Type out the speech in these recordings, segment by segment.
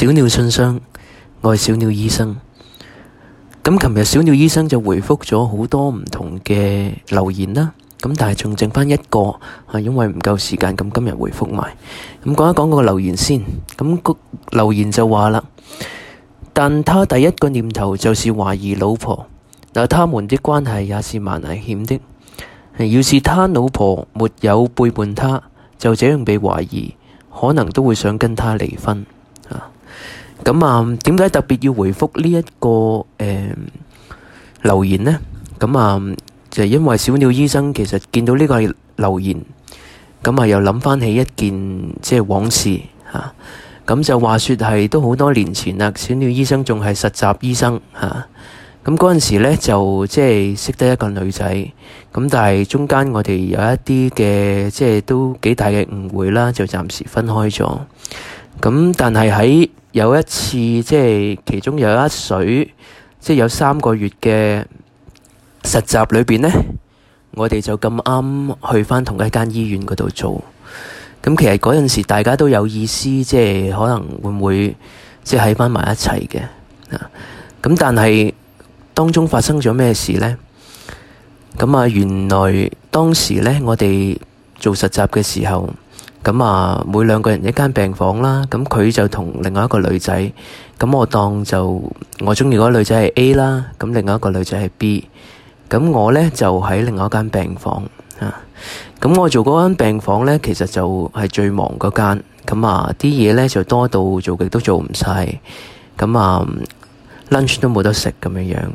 小鳥信箱，我係小鳥醫生。咁琴日小鳥醫生就回覆咗好多唔同嘅留言啦。咁但係仲剩返一個，因為唔夠時間，咁今日回覆埋。咁講一講個留言先。咁個留言就話啦，但他第一個念頭就是懷疑老婆，那他們的關係也是蠻危險的。要是他老婆沒有背叛他，就這樣被懷疑，可能都會想跟他離婚。咁點解特別要回覆呢一個留言呢？咁就係因為小鳥醫生其實見到呢個留言，咁又諗翻起一件即係往事嚇。咁就話説係都好多年前啦，小鳥醫生仲係實習醫生嚇。咁嗰陣時咧就即係識得一個女仔，咁但係中間我哋有一啲嘅即係都幾大嘅誤會啦，就暫時分開咗。咁但係喺有一次即係其中有一水，即係有3個月嘅實習裏邊呢，我哋就咁啱去返同一間醫院嗰度做。咁其實嗰陣時大家都有意思，即係可能會唔會即係喺返埋一齊嘅。咁但係當中發生咗咩事呢？咁原來當時呢，我哋做實習嘅時候，咁每2個人一間病房啦。咁佢就同另外一個女仔，咁我當就我鍾意嗰個女仔係 A 啦，咁另外一個女仔係 B。咁我呢就喺另外一間病房啊。咁我做嗰間病房呢，其實就係最忙嗰間。咁啲嘢呢就多到做極都做唔晒。咁lunch 都冇得食咁樣樣。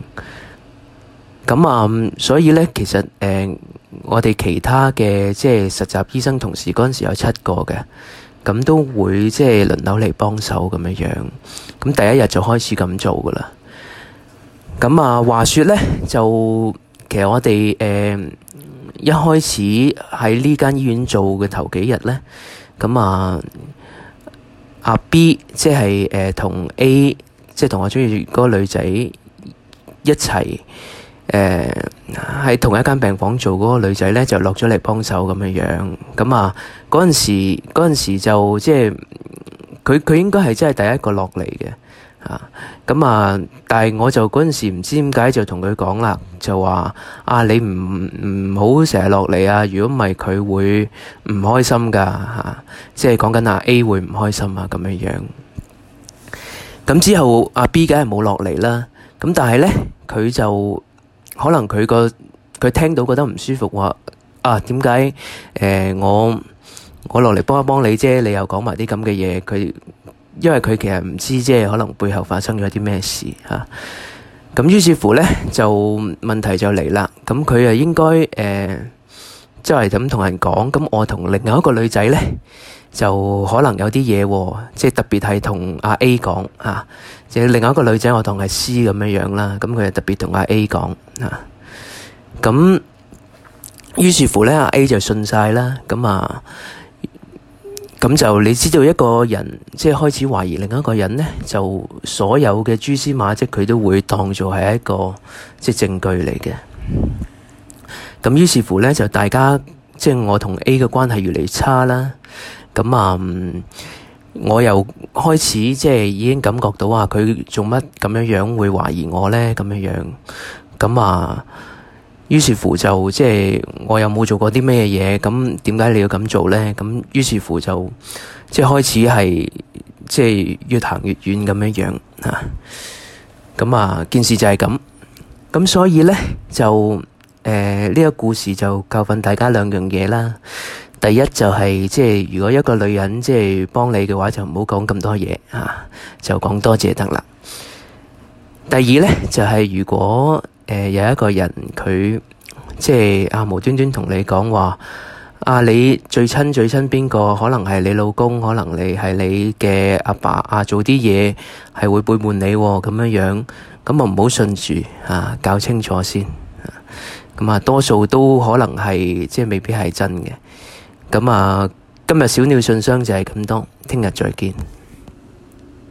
咁所以呢，其實我哋其他嘅即係實習醫生同事嗰陣時有7個嘅，咁都會即係輪流嚟幫手咁樣樣。咁第一日就開始咁做噶啦。咁話說呢，就其實我哋一開始喺呢間醫院做嘅頭幾日呢，咁阿 B 即係同 A 即係同我鍾意嗰個女仔一齊。喺同一間病房做嗰個女仔呢，就落咗嚟幫手咁樣樣。咁嗰陣時就即係佢應該係真係第一個落嚟嘅。但係我就嗰陣時唔知點解就同佢講啦，就話你唔好成日落嚟啊！如果唔係佢會唔開心噶即係講緊A 會唔開心咁樣樣。咁之後阿 B 梗係冇落嚟啦。咁但係呢，佢就可能佢聽到覺得唔舒服，話點解我落嚟幫一幫你啫，你又講埋啲咁嘅嘢。因為佢其實唔知即係可能背後發生咗啲咩事嚇。咁於是乎呢，就問題就嚟啦。咁佢應該即係咁同人講。咁我同另外一個女仔呢，就可能有啲嘢，即係特別係同阿 A 講嚇。即係另外一個女仔我當係 C 咁樣樣啦。咁佢就特別同阿 A 講嚇。咁於是乎呢，阿 A 就信晒啦。咁就你知道一個人即係開始懷疑另一個人呢，就所有嘅蛛絲馬跡佢都會當做係一個即係證據嚟嘅。咁於是乎呢，就大家即係我同 A 嘅關係越嚟越差啦。咁我又開始即係已經感覺到佢做乜咁樣會懷疑我呢？咁樣樣。咁於是乎就即係我又冇做過啲咩嘢，咁點解你要咁做呢？咁於是乎就即係開始係即係越行越遠咁樣樣嚇。咁件事就係咁。咁所以呢，就呢個故事就教訓大家2樣嘢啦。第一就係即係如果一個女人即係幫你嘅話，就唔好講咁多嘢就講多謝得啦。第二呢，就係如果有一個人佢即係無端端同你講話你最親邊個？可能係你老公，可能你係你嘅阿爸做啲嘢係會背叛你咁樣樣，咁唔好信住搞清楚先。咁多數都可能係即係未必係真嘅。咁今日小鳥信箱就係咁多，聽日再見。